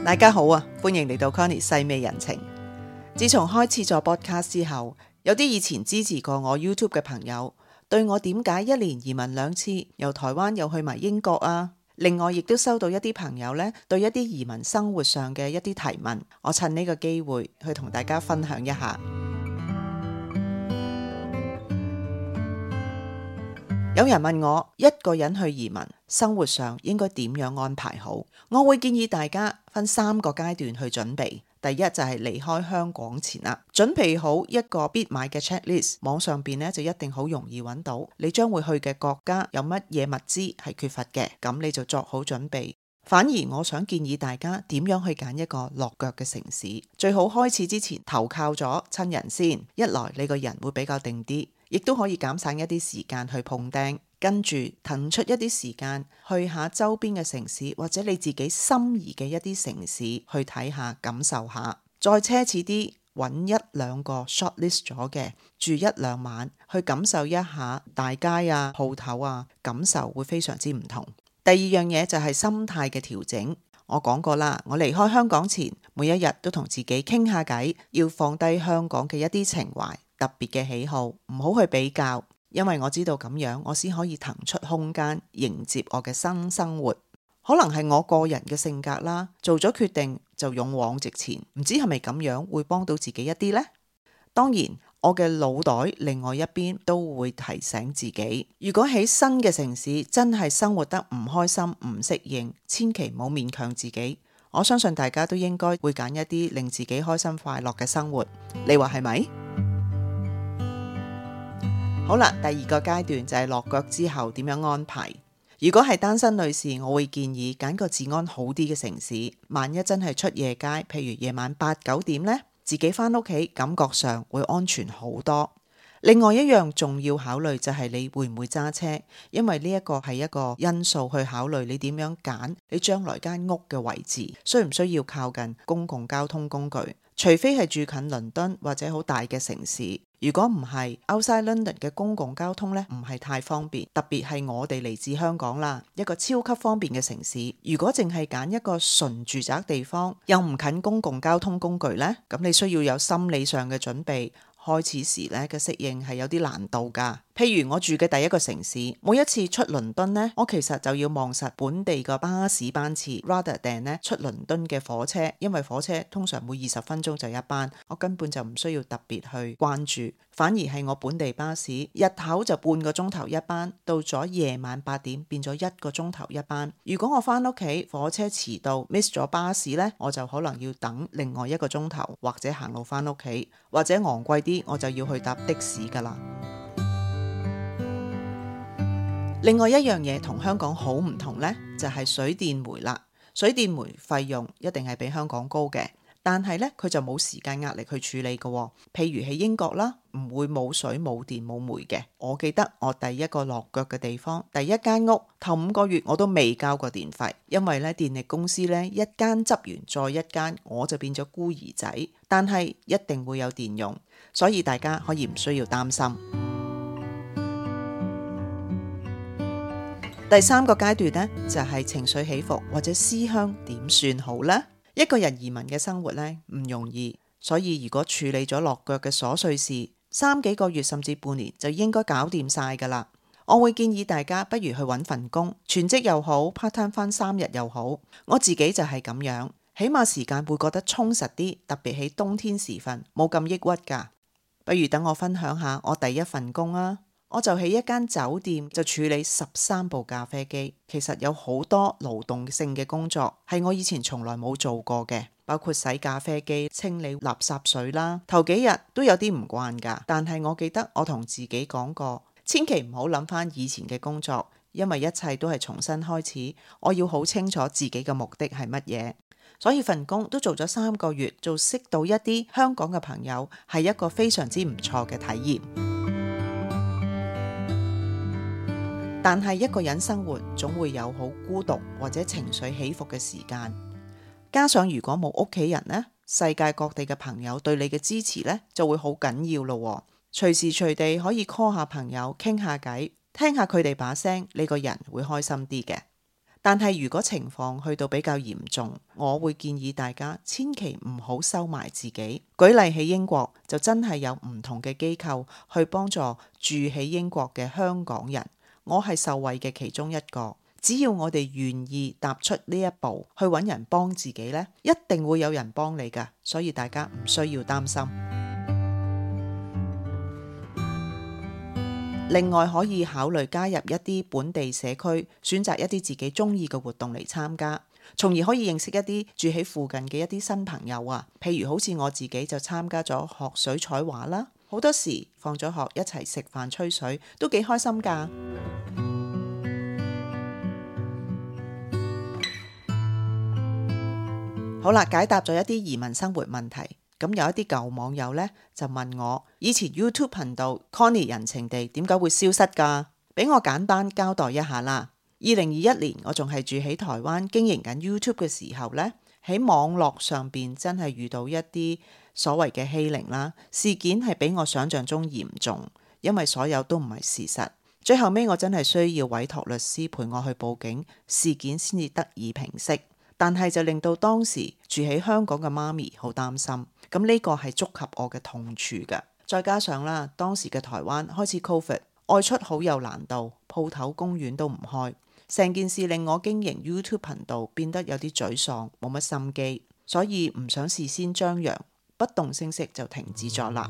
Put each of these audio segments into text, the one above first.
大家好啊，歡迎嚟到 Connie 細味人情。自從開始咗 podcast 之後，有啲以前支持過我 YouTube 嘅朋友，對我點解一年移民2次，由台灣又去埋英國啊？另外亦都收到一啲朋友呢對一啲移民生活上嘅一啲提問，我趁呢個機會去同大家分享一下。有人問我一個人去移民，生活上應該點樣安排好？我會建議大家分3個階段去準備。第一就係離開香港前啦，準備好一個必買嘅 checklist， 網上邊呢就一定好容易揾到你將會去嘅國家有乜嘢物資係缺乏嘅，咁你就作好準備。反而我想建議大家點樣去揀一個落腳嘅城市，最好開始之前投靠咗親人先，一來你個人會比較定啲，亦都可以減省一啲時間去碰釘，跟住騰出一啲時間去下周邊嘅城市，或者你自己心儀嘅一啲城市去睇下感受下。再奢侈啲，揾1-2個 shortlist 咗嘅，住1-2晚去感受一下大街啊、鋪頭啊，感受會非常之唔同。第二樣嘢就係心態嘅調整。我講過啦，我離開香港前每一日都同自己傾下偈，要放低香港嘅一啲情懷、特別嘅喜好，唔好去比較，因為我知道咁樣我先可以騰出空間迎接我嘅新生活。可能係我個人嘅性格啦，做咗決定就勇往直前，唔知係咪咁樣會幫到自己一啲呢？當然我嘅腦袋另外一邊都會提醒自己，如果喺新嘅城市真係生活得唔開心、唔適應，千祈唔好勉強自己。我相信大家都應該會揀一啲令自己開心快樂嘅生活，你話係咪？好啦，第2個階段就係落腳之後點樣安排。如果係單身女士，我會建議揀個治安好啲嘅城市，萬一真係出夜街，譬如夜晚8-9點呢，自己返屋企感覺上會安全好多。另外一樣重要考慮就係你會唔會揸車，因為呢一個係一個因素去考慮你點樣揀你將來間屋嘅位置，需唔需要靠近公共交通工具，除非係住近倫敦或者好大嘅城市。如果唔係 outside London 嘅公共交通呢，唔係太方便，特別係我哋嚟自香港啦，一個超級方便嘅城市。如果淨係揀一個純住宅地方，又唔近公共交通工具呢，咁你需要有心理上嘅準備。開始時咧嘅適應係有啲難度㗎。譬如我住嘅第一個城市，每一次出倫敦呢，我其實就要望實本地個巴士班次 rather than 呢出倫敦嘅火車，因為火車通常每20分鐘就一班，我根本就唔需要特別去關注。反而係我本地巴士，日頭就半個鐘頭一班，到咗夜晚8點變咗1個鐘頭一班。如果我返屋企火車遲到 miss 咗巴士呢，我就可能要等另外1個鐘頭，或者行路返屋企，或者昂貴啲我就要去搭的士㗎啦。另外一樣嘢同香港好唔同呢，就係水電煤啦。水電煤費用一定係比香港高嘅，但係呢，佢就冇時間壓力去處理嘅。譬如喺英國啦，唔會冇水冇電冇煤嘅。我記得我第一個落腳嘅地方，第一間屋頭5個月我都未交過電費，因為呢電力公司呢一間執完再一間，我就變咗孤兒仔。但係一定會有電用，所以大家可以唔需要擔心。第3個階段呢，就係情緒起伏或者思鄉點算好呢？一個人移民嘅生活呢，唔容易，所以如果處理咗落腳嘅瑣碎事，3幾個月甚至半年就應該搞掂晒㗎啦。我會建議大家不如去揾份工，全職又好 part time 返3日又好。我自己就係咁樣，起碼時間會覺得充實啲，特別喺冬天時分冇咁抑鬱㗎。不如等我分享下我第一份工啊！我就喺一間酒店就處理13部咖啡機，其實有好多勞動性嘅工作係我以前從來冇做過嘅，包括洗咖啡機、清理垃圾水啦。頭幾日都有啲唔慣㗎，但係我記得我同自己講過，千祈唔好諗返以前嘅工作，因為一切都係重新開始。我要好清楚自己嘅目的係乜嘢，所以份工都做咗3個月，就識到一啲香港嘅朋友，係一個非常之唔錯嘅體驗。但係一個人生活總會有好孤獨或者情緒起伏嘅時間，加上如果冇屋企人呢，世界各地嘅朋友對你嘅支持呢就會好緊要咯。隨時隨地可以 call 下朋友傾下偈，聽下佢哋把聲，你個人會開心啲嘅。 但係如果情況去到比較嚴重，我會建議大家千祈唔好收埋自己。舉例喺英國就真係有唔同嘅機構去幫助住喺英國嘅香港人，我係受惠嘅其中一個。只要我哋願意踏出呢一步去揾人幫自己呢，一定會有人幫你㗎，所以大家唔需要擔心。另外可以考慮加入一啲本地社區，選擇一啲自己中意嘅活動嚟參加，從而可以認識一啲住喺附近嘅一啲新朋友啊。譬如好似我自己就參加咗學水彩畫啦，好多時放咗學一齊食飯吹水，都幾開心㗎。好啦，解答咗一啲移民生活問題。咁有一啲舊網友呢，就問我，以前 YouTube 頻道 Connie 人情地點解會消失㗎？俾我簡單交代一下啦。2021年我仲係住喺台灣經營緊 YouTube 嘅時候呢，喺網絡上邊真係遇到一啲所謂嘅欺凌啦，事件係比我想象中嚴重，因為所有都唔係事實。最後尾我真係需要委託律師陪我去報警，事件先至得以平息。但係就令到當時住喺香港嘅媽咪好擔心，咁呢個係觸及我嘅痛處㗎。再加上啦，當時嘅台灣開始 COVID， 外出好有難度，鋪頭公園都唔開，成件事令我經營 YouTube 頻道變得有啲沮喪，冇乜心機，所以唔想事先張揚，不動聲色就停止咗啦。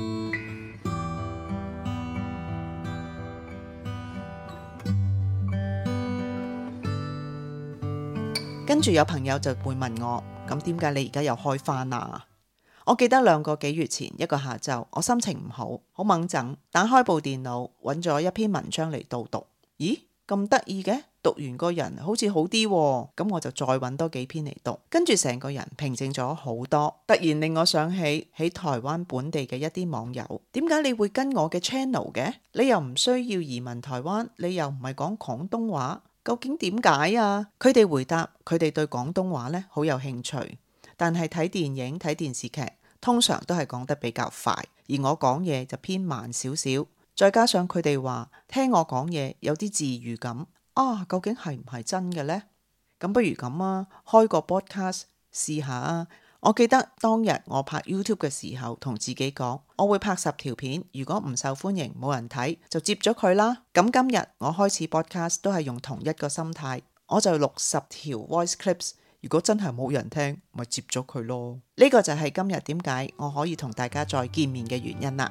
跟住有朋友就會問我，咁點解你而家又開返啊？我記得2個幾月前一個下晝，我心情唔好，好掹憎，打開部電腦揾咗一篇文章嚟導讀。咦，咁得意嘅，讀完個人好似好啲喎，咁我就再揾多幾篇嚟讀，跟住成個人平靜咗好多。突然令我想起喺台灣本地嘅一啲網友，點解你會跟我嘅 channel 嘅？你又唔需要移民台灣，你又唔係講廣東話。究竟點解啊？佢哋回答，佢哋對廣東話呢好有興趣，但係睇電影睇電視劇通常都係講得比較快，而我講嘢就偏慢少少。再加上佢哋話聽我講嘢有啲治癒感啊，究竟係唔係真嘅呢？咁不如咁啊，開個 podcast 試下啊！我記得當日我拍 YouTube 嘅時候，同自己講，我會拍10條片，如果唔受歡迎冇人睇，就接咗佢啦。咁今日我開始 podcast 都係用同一個心態，我就錄10條 voice clips， 如果真係冇人聽，咪接咗佢咯。呢個就係今日點解我可以同大家再見面嘅原因啦。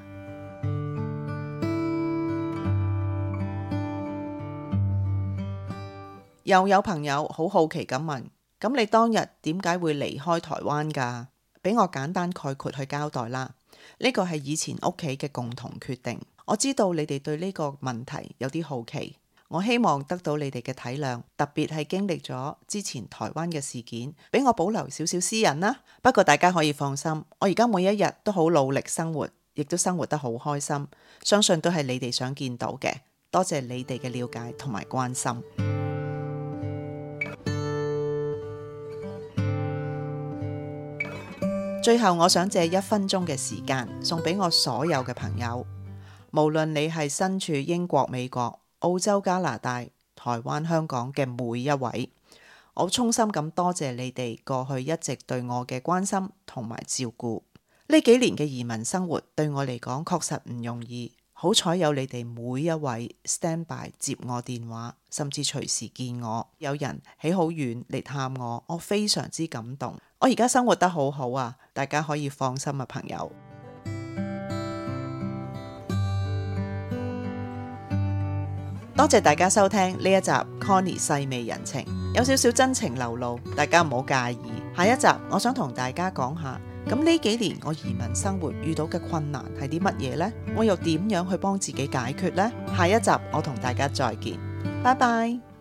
又有朋友好好奇咁問，咁你當日點解會離開台灣㗎？俾我簡單概括去交代啦。呢個係以前屋企嘅共同決定。我知道你哋對呢個問題有啲好奇，我希望得到你哋嘅體諒，特別係經歷咗之前台灣嘅事件，俾我保留少少私隱啦。不過大家可以放心，我而家每一日都好努力生活，亦都生活得好開心，相信都係你哋想見到嘅。多謝你哋嘅了解同埋關心。最後我想借1分鐘嘅時間送俾我所有嘅朋友，無論你係身處英國、美國、澳洲、加拿大、台灣、香港嘅每一位，我衷心咁多謝你哋過去一直對我嘅關心同埋照顧。呢幾年嘅移民生活對我嚟講確實唔容易，好彩有你哋每一位 stand by 接我電話，甚至隨時見我，有人喺好遠嚟探我，我非常之感動。我而家生活得好好啊，大家可以放心啊，朋友。多謝大家收聽呢一集 Connie 細味人情，有少少真情流露，大家唔好介意。下一集我想同大家講下，咁呢幾年我移民生活遇到嘅困難係啲乜嘢呢？我又點樣去幫自己解決呢？下一集我同大家再見，拜拜。